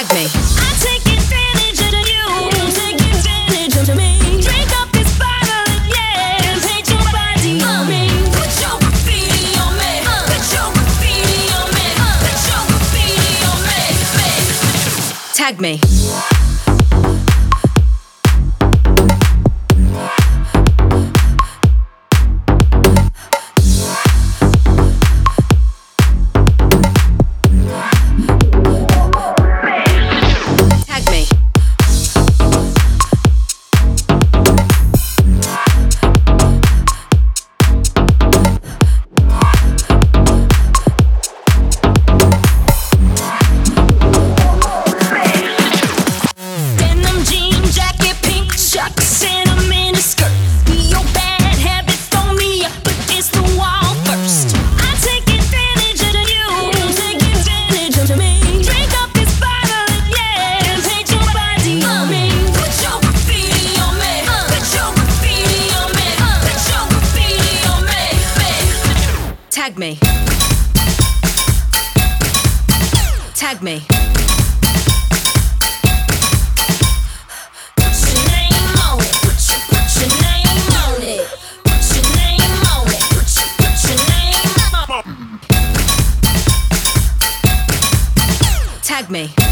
Tag me. I take advantage of you, take advantage of me. Drink up this bottle, yeah, and paint your body on me. Put your graffiti on me. Put your graffiti on me. Put your graffiti on me. Tag me. Tag me. Tag me. Put your name on it. Put your name on it. Put your name on it. Put your name on it. Tag me.